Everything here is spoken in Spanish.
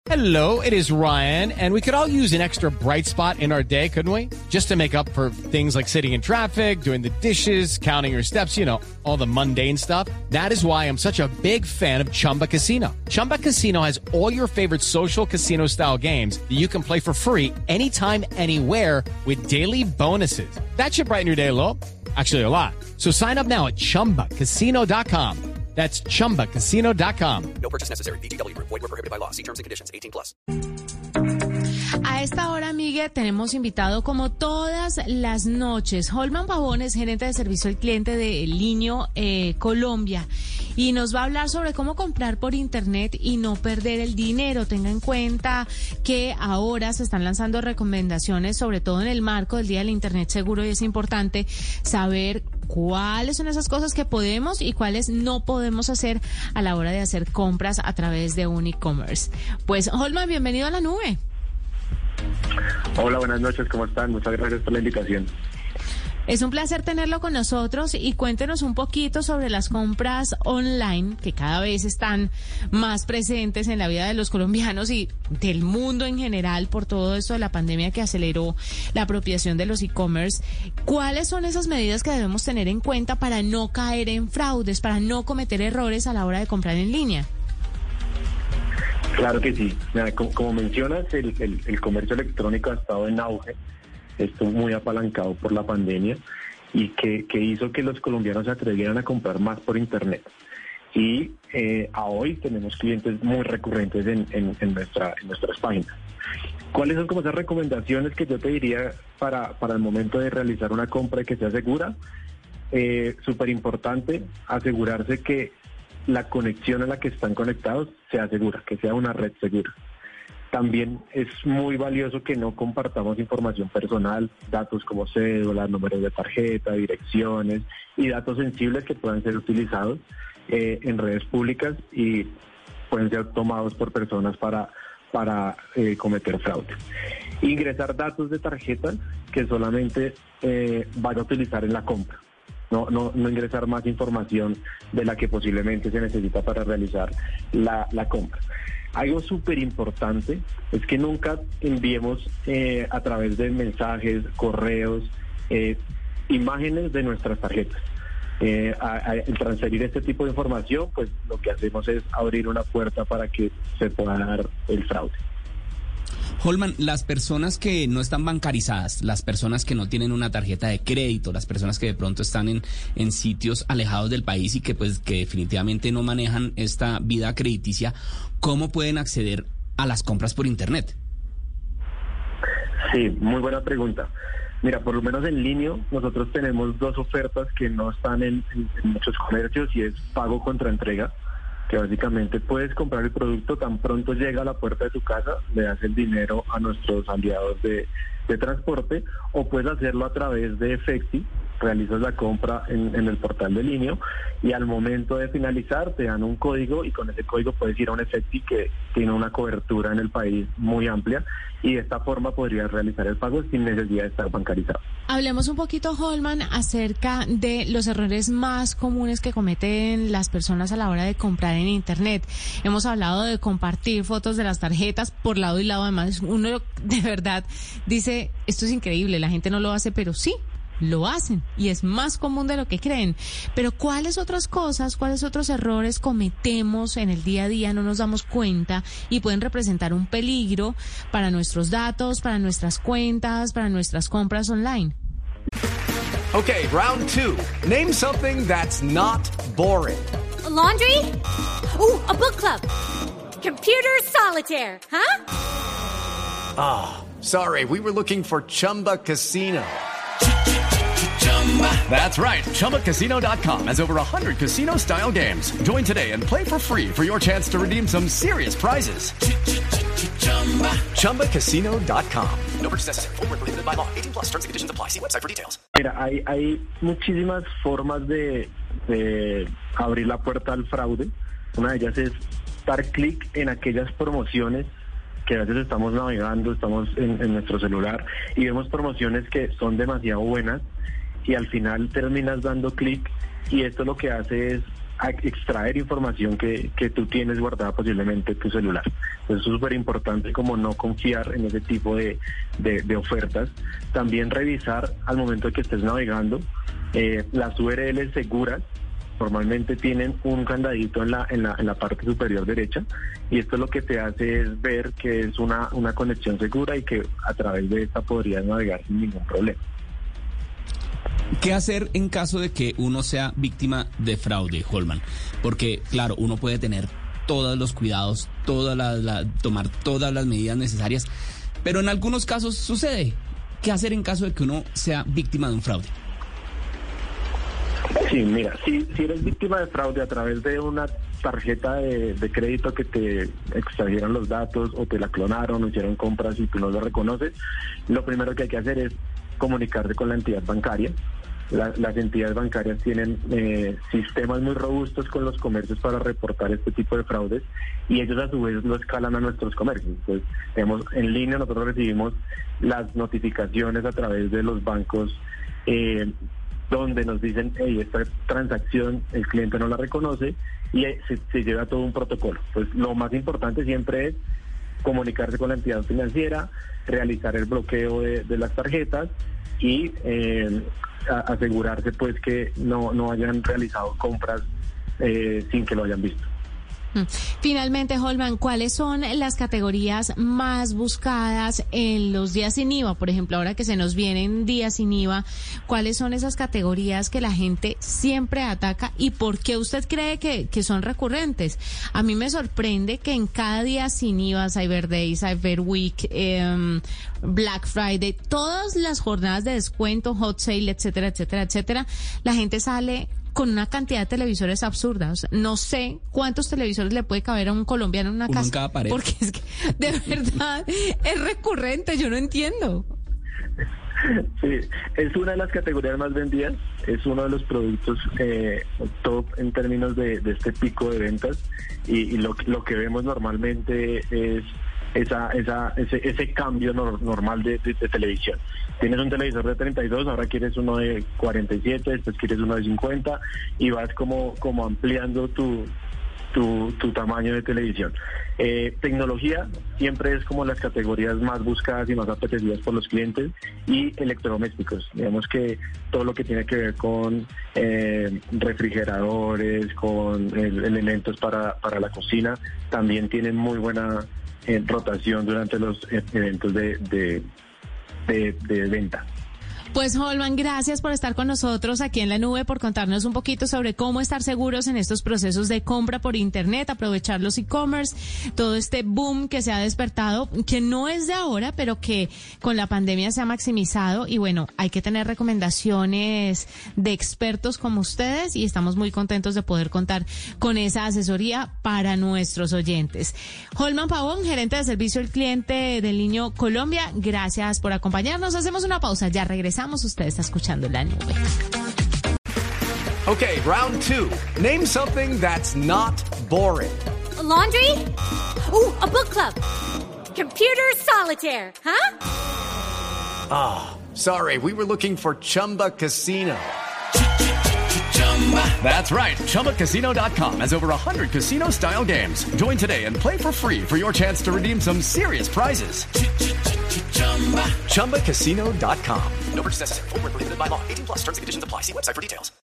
Hello, it is Ryan, and we could all use an extra bright spot in our day, couldn't we? Just to make up for things like sitting in traffic, doing the dishes, counting your steps, you know, all the mundane stuff. That is why I'm such a big fan of Chumba Casino. Chumba Casino has all your favorite social casino-style games that you can play for free anytime, anywhere with daily bonuses. That should brighten your day a little. Actually, a lot. So sign up now at ChumbaCasino.com. That's ChumbaCasino.com. No purchase necessary. VGW Group. Void where prohibited by law. See terms and conditions. 18+. A esta hora, Miguel, tenemos invitado como todas las noches Holman Pavones, gerente de servicio al cliente de Linio Colombia, y nos va a hablar sobre cómo comprar por internet y no perder el dinero. Tenga en cuenta que ahora se están lanzando recomendaciones, sobre todo en el marco del Día del Internet Seguro, y es importante saber cuáles son esas cosas que podemos y cuáles no podemos hacer a la hora de hacer compras a través de un e-commerce. Pues, Holman, bienvenido a la nube. Hola, buenas noches, ¿cómo están? Muchas gracias por la invitación. Es un placer tenerlo con nosotros y cuéntenos un poquito sobre las compras online que cada vez están más presentes en la vida de los colombianos y del mundo en general por todo esto de la pandemia que aceleró la apropiación de los e-commerce. ¿Cuáles son esas medidas que debemos tener en cuenta para no caer en fraudes, para no cometer errores a la hora de comprar en línea? Claro que sí. Mira, como mencionas, el comercio electrónico ha estado en auge. Esto muy apalancado por la pandemia y que hizo que los colombianos se atrevieran a comprar más por internet. Y a hoy tenemos clientes muy recurrentes en nuestras páginas. ¿Cuáles son como esas recomendaciones que yo te diría para el momento de realizar una compra y que sea segura? Súper importante asegurarse que la conexión a la que están conectados sea segura, que sea una red segura. También es muy valioso que no compartamos información personal, datos como cédula, números de tarjeta, direcciones y datos sensibles que puedan ser utilizados en redes públicas y pueden ser tomados por personas para cometer fraude. Ingresar datos de tarjeta que solamente van a utilizar en la compra. No ingresar más información de la que posiblemente se necesita para realizar la compra. Algo súper importante es que nunca enviemos a través de mensajes, correos, imágenes de nuestras tarjetas. Al transferir este tipo de información, pues lo que hacemos es abrir una puerta para que se pueda dar el fraude. Holman, las personas que no están bancarizadas, las personas que no tienen una tarjeta de crédito, las personas que de pronto están en sitios alejados del país y que definitivamente no manejan esta vida crediticia, ¿cómo pueden acceder a las compras por internet? Sí, muy buena pregunta. Mira, por lo menos en Linio nosotros tenemos dos ofertas que no están en muchos comercios y es pago contra entrega, que básicamente puedes comprar el producto tan pronto llega a la puerta de tu casa, le das el dinero a nuestros aliados de transporte, o puedes hacerlo a través de Efecti, realizas la compra en el portal de Linio y al momento de finalizar te dan un código y con ese código puedes ir a un Efecti que tiene una cobertura en el país muy amplia y de esta forma podrías realizar el pago sin necesidad de estar bancarizado. Hablemos un poquito, Holman, acerca de los errores más comunes que cometen las personas a la hora de comprar en internet. Hemos hablado de compartir fotos de las tarjetas por lado y lado. Además, uno de verdad dice, esto es increíble, la gente no lo hace, pero sí, lo hacen y es más común de lo que creen. Pero ¿cuáles otras cosas, cuáles otros errores cometemos en el día a día, no nos damos cuenta y pueden representar un peligro para nuestros datos, para nuestras cuentas, para nuestras compras online? Okay, round two. Name something that's not boring. A laundry? Ooh, a book club. Computer solitaire, huh? Ah, sorry, we were looking for Chumba Casino. That's right. ChumbaCasino.com has over 100 casino-style games. Join today and play for free for your chance to redeem some serious prizes. ChumbaCasino.com. No purchase necessary. Void where prohibited by law. 18+. Terms and conditions apply. See website for details. Mira, hay muchísimas formas de abrir la puerta al fraude. Una de ellas es dar clic en aquellas promociones que a veces estamos navegando, estamos en nuestro celular y vemos promociones que son demasiado buenas y al final terminas dando clic y esto lo que hace es extraer información que tú tienes guardada posiblemente en tu celular. Entonces es súper importante como no confiar en ese tipo de ofertas. También revisar al momento de que estés navegando las URLs seguras. Normalmente tienen un candadito en la parte superior derecha, y esto lo que te hace es ver que es una conexión segura y que a través de esta podrías navegar sin ningún problema. ¿Qué hacer en caso de que uno sea víctima de fraude, Holman? Porque, claro, uno puede tener todos los cuidados, tomar todas las medidas necesarias, pero en algunos casos sucede. ¿Qué hacer en caso de que uno sea víctima de un fraude? Sí, mira, si eres víctima de fraude a través de una tarjeta de crédito que te extrajeron los datos o te la clonaron o hicieron compras y tú no lo reconoces, lo primero que hay que hacer es comunicarse con la entidad bancaria. Las entidades bancarias tienen sistemas muy robustos con los comercios para reportar este tipo de fraudes, y ellos a su vez lo escalan a nuestros comercios. Entonces, en línea nosotros recibimos las notificaciones a través de los bancos donde nos dicen, hey, esta transacción el cliente no la reconoce, y se lleva todo un protocolo. Pues lo más importante siempre es comunicarse con la entidad financiera, realizar el bloqueo de las tarjetas y asegurarse pues que no hayan realizado compras sin que lo hayan visto. Finalmente, Holman, ¿cuáles son las categorías más buscadas en los días sin IVA? Por ejemplo, ahora que se nos vienen días sin IVA, ¿cuáles son esas categorías que la gente siempre ataca y por qué usted cree que son recurrentes? A mí me sorprende que en cada día sin IVA, Cyber Day, Cyber Week, Black Friday, todas las jornadas de descuento, hot sale, etcétera, etcétera, etcétera, la gente sale con una cantidad de televisores absurdas. No sé cuántos televisores le puede caber a un colombiano en una casa. En cada pared. Porque es que, de verdad, es recurrente, yo no entiendo. Sí, es una de las categorías más vendidas, es uno de los productos top en términos de este pico de ventas, y lo que vemos normalmente es ese cambio normal de televisión. Tienes un televisor de 32, ahora quieres uno de 47, después quieres uno de 50, y vas como ampliando tu tamaño de televisión. Tecnología siempre es como las categorías más buscadas y más apetecidas por los clientes, y electrodomésticos. Digamos que todo lo que tiene que ver con refrigeradores, con elementos para la cocina, también tienen muy buena rotación durante los eventos de venta. Pues Holman, gracias por estar con nosotros aquí en La Nube, por contarnos un poquito sobre cómo estar seguros en estos procesos de compra por internet, aprovechar los e-commerce, todo este boom que se ha despertado, que no es de ahora, pero que con la pandemia se ha maximizado, y bueno, hay que tener recomendaciones de expertos como ustedes, y estamos muy contentos de poder contar con esa asesoría para nuestros oyentes. Holman Pavón, gerente de servicio al cliente del Niño Colombia, gracias por acompañarnos. Hacemos una pausa, ya regresamos. Usted está escuchando La Nube. Okay, round two. Name something that's not boring. A laundry? Ooh, a book club. Computer solitaire, huh? Ah, sorry, we were looking for Chumba Casino. That's right, ChumbaCasino.com has over 100 casino-style games. Join today and play for free for your chance to redeem some serious prizes. ChumbaCasino.com. No purchase necessary. Void where prohibited by law. 18+ terms and conditions apply. See website for details.